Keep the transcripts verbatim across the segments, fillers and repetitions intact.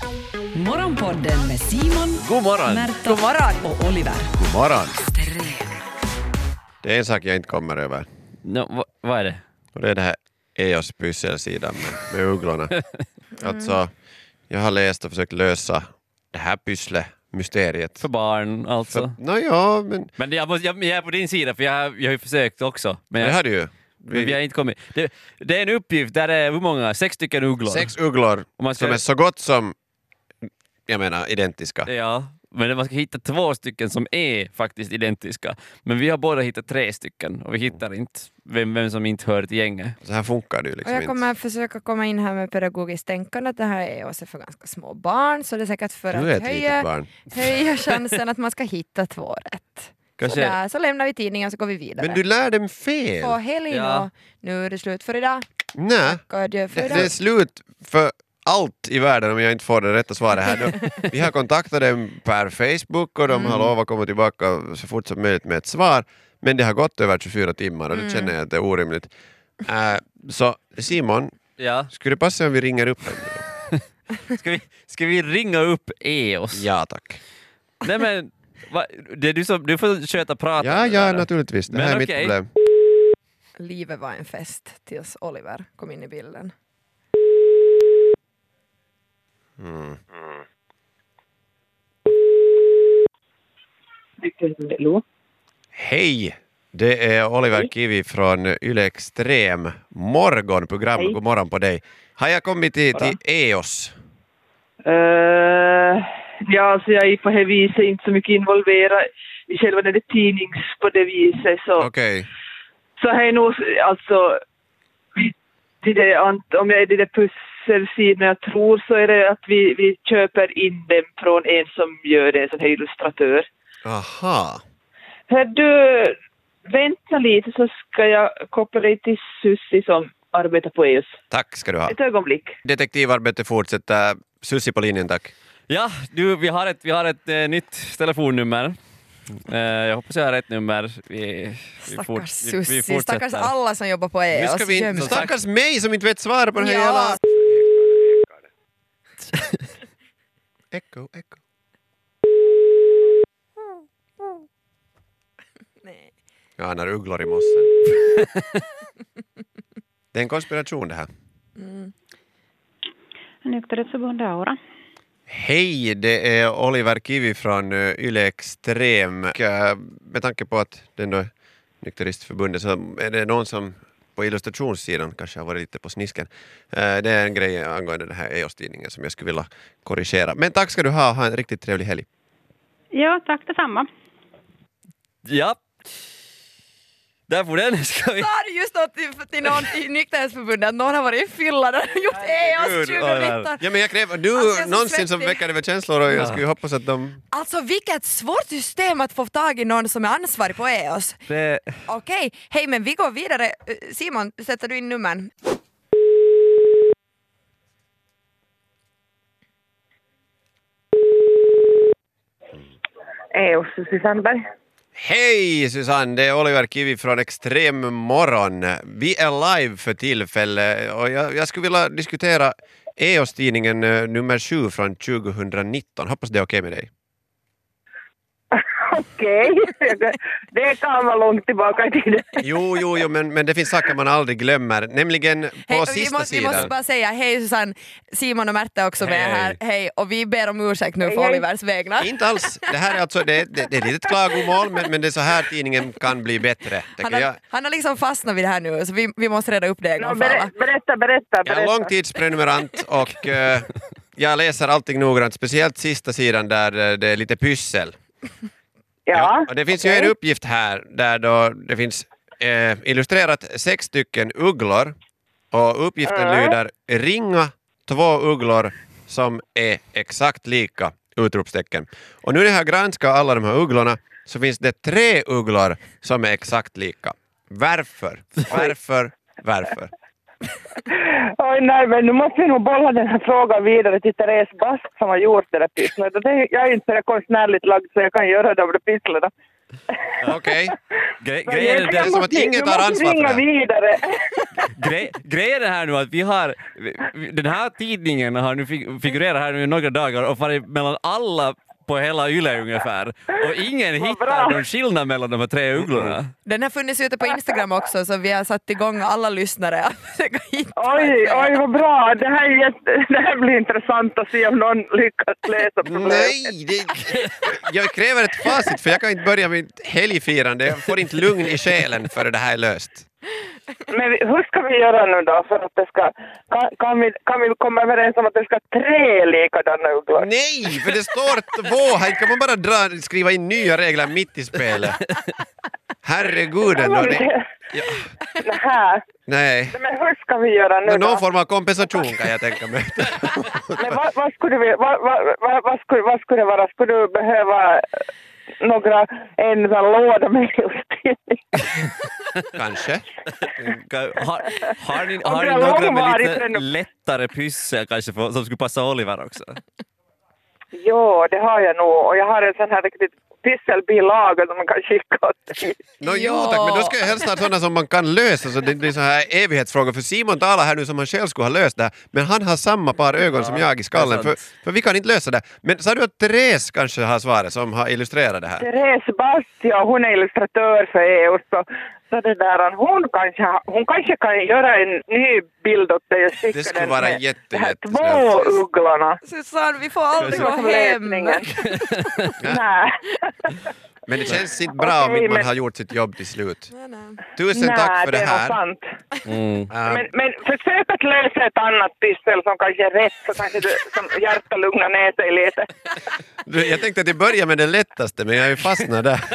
Morgonpodden med Simon, God morgon. Märta God morgon. och Oliver. God morgon. Extrem. Det är en sak jag inte kommer över. No, vad, vad är det? Och det är det här E O S pysselsidan med, med ugglorna. mm. Alltså, jag har läst och försökt lösa det här pyssle-mysteriet. För barn alltså. För, no, ja, men... Men jag, måste, jag, jag är på din sida för jag, jag har ju försökt också. Men jag, det har du ju. Vi, vi har inte kommit. Det, det är en uppgift där det är hur många? Sex stycken ugglor. Sex ugglor ska... som är så gott som, jag menar, identiska. Ja, men man ska hitta två stycken som är faktiskt identiska. Men vi har båda hittat tre stycken och vi hittar inte vem, vem som inte hör till gänget. Så här funkar det ju liksom och jag kommer inte. försöka komma in här med pedagogiskt tänkande att det här är också för ganska små barn, så det är säkert för Du är att ett litet höja, barn. höja chansen att man ska hitta två rätt. Kanske... Så, där, så lämnar vi tidningen och så går vi vidare. Men du lär dem fel. På helgen Ja. och nu är det slut för idag. Nej, Och adjö för det, idag. det är slut för allt i världen om jag inte får det rätta svaret här. Då, vi har kontaktat dem per Facebook och de Mm. har lovat att komma tillbaka så fort som möjligt med ett svar. Men det har gått över tjugofyra timmar och det Mm. känner jag att det är orimligt. Uh, så Simon, Ja. skulle det passa om vi ringer upp dem? Ska, vi, ska vi ringa upp E O S? Ja tack. Nej men, va, det är du, som, du får köta prata. Ja, ja naturligtvis. Det Men här är okej. mitt problem. Livet var en fest tills Oliver kom in i bilden. Mm. Hej! Det är Oliver Kivi från Yle Extrem morgonprogram. Hej. God morgon på dig. Har jag kommit till, till E O S? Uh, ja, alltså jag är på det viset inte så mycket involverad i själva den där tidnings på det viset. Så, Okej. så här är nog, alltså, vi, det där, ant- om jag är i det där pusselsidan jag tror så är det att vi, vi köper in dem från en som gör det, en sån här illustratör. Aha. Hör du, vänta lite så ska jag koppla dig till Sussi som arbetar på E O S. Tack ska du ha. Ett ögonblick. Detektivarbete fortsätter. Sussi på linjen, tack. Ja, du, vi har ett, vi har ett eh, nytt telefonnummer. Eh, jag hoppas jag har rätt nummer. Vi, vi, Stackars fort, vi, vi Sussi, fortsätter. stackars alla som jobbar på E O Nu S. ska vi inte... Göm sig. Stackars mig som inte vet svara på den här Ja. jävla... Echo, echo. Nej. Jag anar ugglor i mossen. Det är en konspiration det här. Nykterhetsförbundet Aura. Hej, det är Oliver Kivi från uh, Yle Extrem. Och, uh, med tanke på att det ändå är Nykteristförbundet så är det någon som på illustrationssidan kanske har varit lite på snisken. Uh, det är en grej angående den här E O S-tidningen som jag skulle vilja korrigera. Men tack ska du ha, ha en riktigt trevlig helg. Ja, tack detsamma. Ja. Där får den. Ska vi... Sa du just något till, till någon i Nykterhetsförbundet att någon har varit i fylla där och gjort E O S tjugonitton? Ja, men jag kräver, du Alltså, jag är så någonsin som svettig. väcker över känslor och jag skulle hoppas att de... Alltså vilket svårt system att få tag i någon som är ansvarig på E O S. Det... Okej, hej men vi går vidare. Eh, Simon, sätter du in numren? E O S, Sussi Sandberg. Hej Susanne, det är Oliver Kivi från Extrem morgon. Vi är live för tillfälle och jag, jag skulle vilja diskutera E O S-tidningen eh, nummer sju från tjugonitton. Hoppas det är okej med dig. Okej, det kan vara långt tillbaka i tiden. Jo, jo, jo men, men det finns saker man aldrig glömmer. Nämligen på Hej, vi, sista måste, vi sidan. måste bara säga hej Susanne, Simon och Märta är också med Hej. här. Hej, och vi ber om ursäkt nu Hej, för hej. Olivers vägnar. Inte alls. Det här är alltså det, det, det är ett litet klagomål men, men det är så här tidningen kan bli bättre. Han Jag, har, han har liksom fastnat vid det här nu så vi, vi måste reda upp det en No, gång för alla. ber- berätta, berätta, jag är berätta. en långtidsprenumerant och eh, jag läser allting noggrant. Speciellt sista sidan där eh, det är lite pyssel. Ja, och det finns okej. ju en uppgift här där då det finns eh, illustrerat sex stycken ugglor och uppgiften Mm. lyder ringa två ugglor som är exakt lika, utropstecken. Och nu när jag har granskat alla de här ugglorna så finns det tre ugglor som är exakt lika. Varför? Varför? Varför? Oj, nej, men nu måste vi nog bolla den här frågan vidare till Therese Bask som har gjort det där pysslet. Det- Jag är inte så konstnärligt lagd så jag kan göra de där pysslerna. Okej. Gre- Men grejen är jag det är den- som att måste- ingen jag tar måste ansvar för ringa det. vidare. Gre- grejen är här nu att vi har, vi- den här tidningen har nu fig- figurerat här nu i några dagar och varit mellan alla på hela Yle ungefär. Och ingen Vad hittar bra. någon skillnad mellan de här tre ugglorna. Den har funnits ute på Instagram också, så vi har satt igång alla lyssnare att försöka hitta. Oj, oj vad bra. Det här, är jätte, det här blir intressant att se om någon lyckas lösa problemet. Nej, det, jag kräver ett facit för jag kan inte börja med helgfirande. Jag får inte lugn i själen för det här är löst. Men vi- hur ska vi göra nu då för att det ska... Kan, kan, vi, kan vi komma överens om att det ska tre likadana ugglor? Nej, för det står två. Här kan man bara dra, skriva in nya regler mitt i spelet. Herregud ändå. Det, Nähä. nej. Men hur ska vi göra nu Nå, då? någon form av kompensation kan jag tänka mig. Men vad, vad, skulle vi, vad, vad, vad, vad, skulle, vad skulle det vara? Skulle du behöva några, en sån låda med illustrering? Kanske. Har, har ni, Om har det ni är några med långvarigt lite ännu- lättare pyssel kanske för, som skulle passa Oliver också? Jo, det har jag nog. Och jag har en sån här riktigt pysselbilaga som man kan skicka åt dig. No, jo tack, men då ska jag helst ha sådana som man kan lösa så det blir så här evighetsfrågor. För Simon talar här nu som han själv skulle ha löst det här, men han har samma par ögon som jag i skallen. det är För, sant. för vi kan inte lösa det. Men sa du att Therese kanske har svaret som har illustrerat det här? Therese Bastia, hon är illustratör för E U. Så, så det där, hon, kanske, ha- hon kanske kan göra en ny bild åt dig och skicka Det skulle den vara med jätte, de här jättesnält. två ugglorna. Susanne, vi får aldrig gå Som hem. lösningen. Nej. Men det känns inte bra om Okej, inte man men- har gjort sitt jobb till slut. Nej, nej. Tusen Nej, tack för det det här. var sant. Mm. Ähm, Men, men försök att lösa ett annat pyssel som kanske är rätt, så kanske du som hjärta lugnar ner sig lite. du, jag tänkte att jag börjar med det lättaste, men jag är ju fastnad där.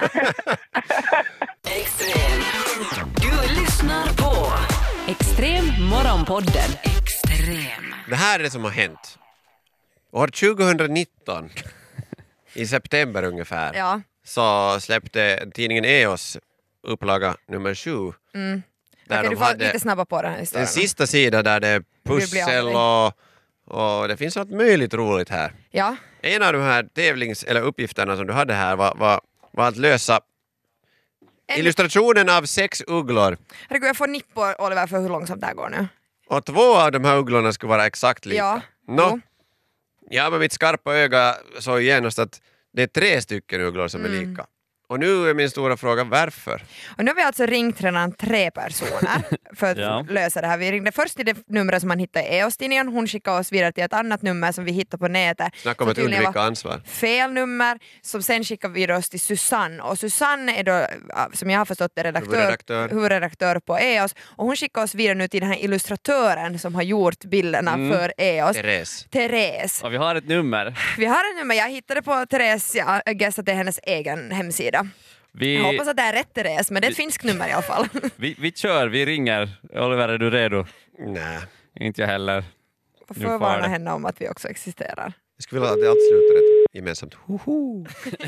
Extrem. Du lyssnar på Extrem morgonpodden. Extrem. Det här är det som har hänt. År tjugonitton, i september ungefär, Ja. så släppte tidningen E O S upplaga nummer sju. Mm. Där Okej, de du får hade lite snabba på den här en historien. sista sida där det är pussel och, och det finns något möjligt roligt här. Ja. En av de här tävlings- eller uppgifterna som du hade här var, var, var att lösa En- illustrationen av sex ugglor. Herregud, jag får nipp på Oliver för hur långsamt det här går nu. Och två av de här ugglorna skulle vara exakt lika. Ja. Nå, Jo. ja, med mitt skarpa öga såg genast att det är tre stycken ugglor som är Mm. lika. Och nu är min stora fråga varför? Och nu har vi alltså ringt redan tre personer för att Ja. lösa det här. Vi ringde först till det numret som man hittade i E O S-tidningen. Hon skickade oss vidare till ett annat nummer som vi hittade på nätet. Snacka om som att tydligen undvika var ansvar. fel nummer, som sen skickade vidare oss till Susanne. Och Susanne är då, som jag har förstått, är redaktör, Huvudredaktör. huvudredaktör på E O S. Och hon skickade oss vidare nu till den här illustratören som har gjort bilderna Mm. för E O S. Therese. Therese. Och vi har ett nummer. Vi har ett nummer, jag hittade på Therese, jag guess att det är hennes egen hemsida. Vi, Jag hoppas att det är rätt Therese, men det är ett finskt nummer i alla fall. vi, vi kör, vi ringer. Oliver, är du redo? Nej. Inte jag heller. Jag Nu får far varna det. henne om att vi också existerar. Jag skulle vilja att det allt slutar ett gemensamt hoho.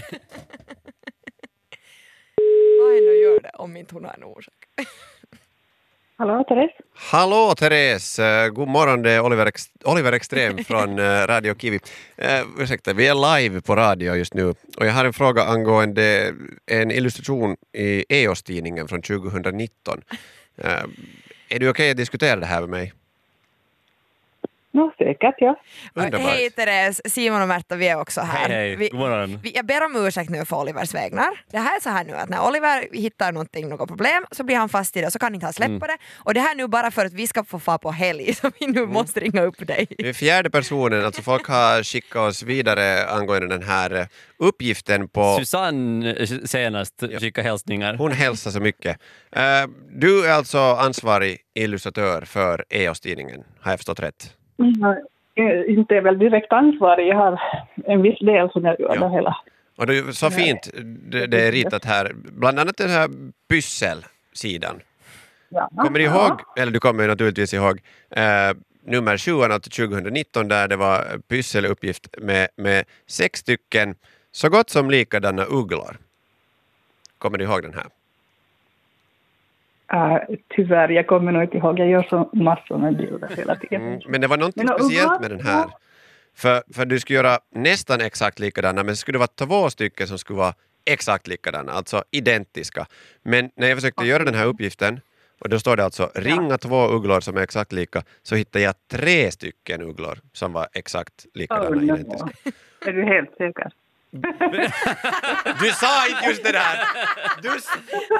Vad än gör det om inte hon har en orsak. Hallå, Therese? Hallå Therese, Eh, god morgon, det är Oliver, Ex- Oliver Extrem från eh, Radio Kiwi. Uh, ursäkta, vi är live på radio just nu och jag har en fråga angående en illustration i E O S-tidningen från tjugonitton. Uh, är du okej att diskutera det här med mig? Nå, säkert, ja. Underbart. Hej Therese, Simon och Märta, vi är också här. Hej, hej. Vi, God morgon. vi, jag ber om ursäkt nu för Olivers vägnar. Det här är så här nu att när Oliver hittar någonting, något problem, så blir han fast i det och så kan inte han släppa Mm. det. Och det här nu bara för att vi ska få få på helg, så vi nu måste ringa upp dig. Det är fjärde personen, alltså folk har skickat oss vidare angående den här eh, uppgiften på... Susanne eh, senast skickade hälsningar. Hon hälsar så mycket. Uh, du är alltså ansvarig illustratör för E O S-tidningen, har jag förstått rätt? Mm, inte är väl direkt ansvarig, jag har en viss del som jag gör Ja. det hela. Och det är så fint, det, det är ritat här, bland annat den här pysselsidan. Ja. Kommer du ihåg, eller du kommer naturligtvis ihåg, eh, nummer sju, alltså tjugonitton, där det var pysseluppgift med, med sex stycken så gott som likadana ugglor. Kommer du ihåg den här? Uh, tyvärr, jag kommer nog inte ihåg, jag gör så massor med bilder hela tiden. Mm, men det var någonting Men speciellt ugglor? med den här. För, för du skulle göra nästan exakt likadana, men det skulle vara två stycken som skulle vara exakt likadana, alltså identiska. Men när jag försökte göra den här uppgiften, och då står det alltså ringa två ugglor som är exakt lika, så hittade jag tre stycken ugglor som var exakt likadana, Oh, no. identiska. Är du helt säker? Du sa inte just det där! Du... s-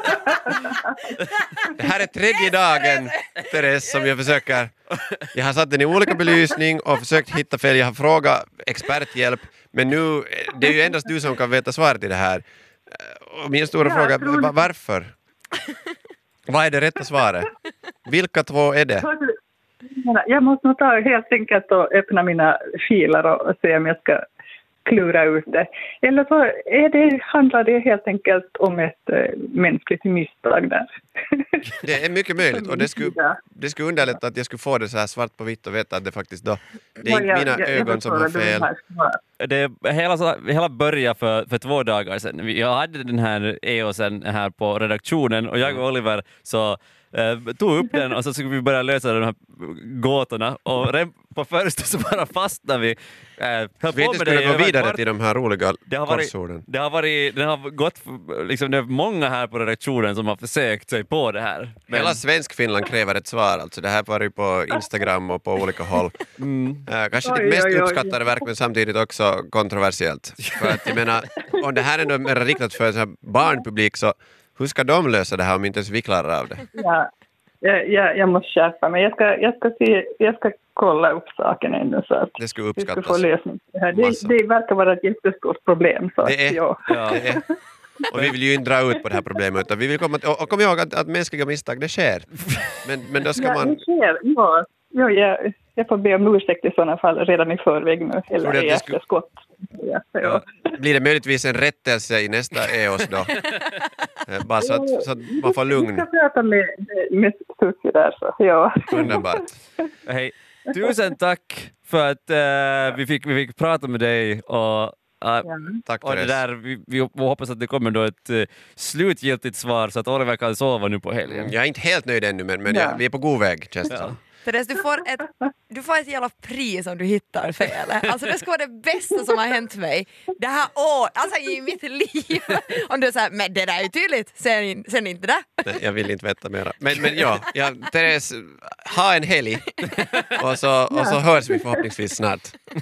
Det här är tredje dagen, Therese, som jag försöker... Jag har satt den i olika belysning och försökt hitta fel. Jag har frågat experthjälp, men nu det är ju endast du som kan veta svaret i det här. Och min stora Ja, fråga jag tror är det. varför? Vad är det rätta svaret? Vilka två är det? Jag måste nog ta helt enkelt och öppna mina filer och se om jag ska klura ut det. Eller så är det, handlar det helt enkelt om ett äh, mänskligt misstag där. Det är mycket möjligt och det skulle, det skulle underlätta att jag skulle få det så här svart på vitt och veta att det faktiskt då det är inte mina ögon som har fel. Det hela, så, hela började för, för två dagar sedan. Jag hade den här E O S:en här på redaktionen och jag och Oliver så eh, tog upp den och så skulle vi börja lösa de här gåtorna och redan på första så bara fastnade vi. Eh, höll Vi på inte med det skulle i gå över vidare kvart. till de här roliga Det har varit, korsorden. det har varit, det har gått, liksom, det är många här på redaktionen som har försökt sig på det här. Men, Hela Svensk-Finland kräver ett svar. Alltså det här var ju på Instagram och på olika håll. mm, Äh, kanske Oj, det mest oj, oj. uppskattade verk men samtidigt också kontroversiellt. För att jag menar, om det här är mer riktat för en sån här barnpublik så hur ska de lösa det här om inte ens vi klarar av det? Ja, jag, jag, jag måste skärpa mig. Jag ska, jag, ska se, jag ska kolla upp saken ännu så att Det skulle vi ska få uppskattas. lösning. Det, här. Massa. Det, det verkar vara ett jättestort problem. Så Det är- att, ja. ja. Det är, och vi vill ju inte dra ut på det här problemet utan vi vill komma till, och, och kom ihåg att, att mänskliga misstag det sker. Men, men då ska Ja, man... det sker. Ja, ja, jag, jag får be om ursäkt i sådana fall redan i förväg nu. Tror Eller du att i det skulle- efterskott. Ja, ja. Blir det möjligtvis en rättelse i nästa E O S då? Eh, Bara så att, så att man får Vi lugn. ska prata med, med Susie där. Så, ja. Underbart. Hej. Tusen tack för att eh, vi, fick, vi fick prata med dig och eh, Tack och det Therese. där, vi, vi hoppas att det kommer då ett uh, slutgiltigt svar så att Oliver kan sova nu på helgen. Jag är inte helt nöjd ännu men, men Ja. jag, vi är på god väg känns det som. Therese, du får ett, du får ett jävla pris om du hittar fel. Alltså det ska vara det bästa som har hänt mig det här året, alltså i mitt liv. Om du säger, men det där är ju tydligt, sen, sen inte det. Nej, jag vill inte veta mera. Men, men ja, ja, Therese, ha en helg och så, och så hörs vi förhoppningsvis snart.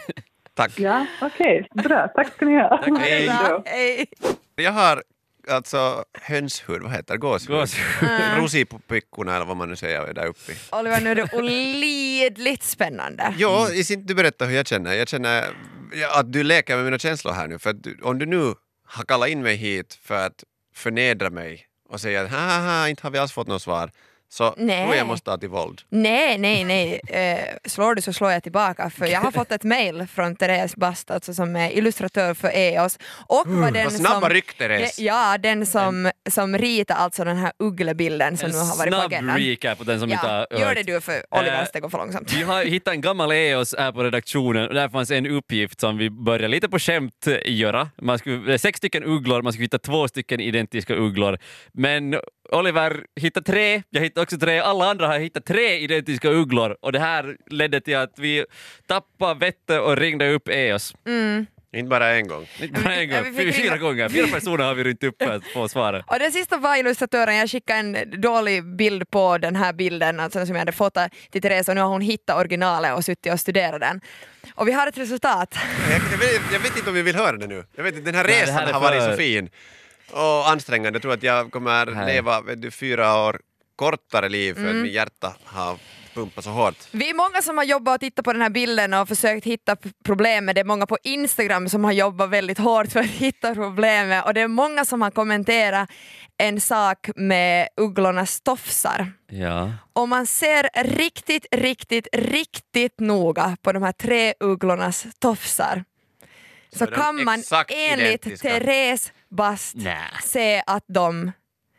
Tack. Ja, okej. Bra. Tack ska ni ha. Tack, hej. Bra, hej. Jag har alltså hönshud, vad heter det? Gåshud? Gåshud. Rosi på pickorna eller vad man nu säger där uppe. Oliver, nu är det olidligt spännande. Jo, i sin, du berättar hur jag känner. Jag känner ja, att du leker med mina känslor här nu. För att du, om du nu har kallat in mig hit för att förnedra mig och säga att haha, inte har vi alls fått något svar. Så Nej. tror jag måste ta till våld. Nej, nej, nej. Eh, slår du så slår jag tillbaka. För jag har fått ett mejl från Therese Bast, alltså som är illustratör för E O S. Och var den Vad snabba som, ryck, Therese. Ja, den som, som ritar alltså den här ugglebilden som En nu har varit på snabb agendan. recap på den som inte Ja, har gör hört. det du för Oliver, Eh, det går för långsamt. Vi har hittat en gammal E O S här på redaktionen och där fanns en uppgift som vi började lite på skämt göra. Man skulle, sex stycken ugglor, man skulle hitta två stycken identiska ugglor. Men Oliver hittade tre, jag hittade också tre, alla andra har hittat tre identiska ugglor och det här ledde till att vi tappade vettet och ringde upp E O S. Mm. Inte bara en gång. Inte bara en Ja, gång, vi fick fyra ringa- gånger. Fyra personer har vi rynt upp för att få svaret. Och den sista var illustratören, jag skickade en dålig bild på den här bilden alltså, som jag hade fått till Therese och nu har hon hittat originalet och suttit och studerat den. Och vi har ett resultat. Jag, jag, vet, jag vet inte om vi vill höra det nu. Jag vet inte, den här Nej, det resan här är har varit för- så fin och ansträngande. Jag tror att jag kommer Nej. leva vet du, fyra år kortare liv för Mm. att min hjärta har pumpat så hårt. Vi är många som har jobbat och tittat på den här bilden och försökt hitta p- problemet. Det är många på Instagram som har jobbat väldigt hårt för att hitta problemet och det är många som har kommenterat en sak med ugglornas tofsar. Ja. Om man ser riktigt, riktigt, riktigt noga på de här tre ugglornas tofsar så, Så är de kan man exakt enligt identiska. Therese Bast Nä. se att de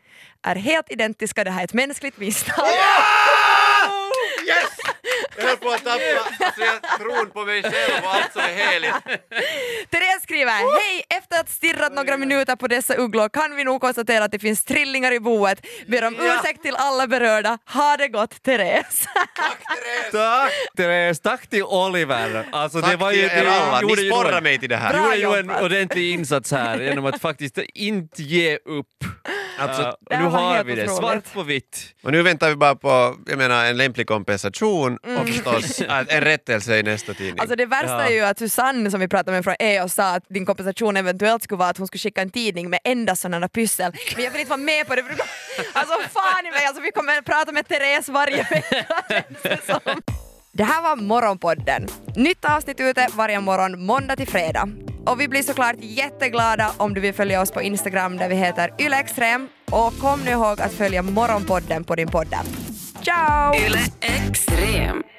är helt identiska. Det här är ett mänskligt misstag. Yes! Jag höll på att tappa alltså, jag tron på mig själv och allt som är heligt. Therese skriver hej, efter att stirrat några minuter på dessa ugglor kan vi nog konstatera att det finns trillingar i boet. Ber om ursäkt till alla berörda. Ha det gott, Therese. Tack Therese, tack till Oliver. Alltså, Tack det var till ju, er det alla, gjorde ni ju sporrar nog- mig till det här. Du Bra gjorde ju en jobbat. ordentlig insats här genom att faktiskt inte ge upp. Alltså, Uh, och det nu var har helt vi det, otroligt. svart på vitt. Och nu väntar vi bara på, jag menar, en lämplig kompensation och förstås att en rättelse i nästa tidning. Alltså det värsta Ja. är ju att Susanne som vi pratade med från E O sa att din kompensation eventuellt skulle vara att hon skulle skicka en tidning med enda sådana pyssel. Men jag vill inte vara med på det. För du... Alltså fan i mig, alltså, vi kommer att prata med Therese varje vecka. Det här var Morgonpodden. Nytt avsnitt ute varje morgon måndag till fredag. Och vi blir såklart jätteglada om du vill följa oss på Instagram där vi heter ylextrem. Och kom nu ihåg att följa Morgonpodden på din podd. Ciao! Yle Extrem.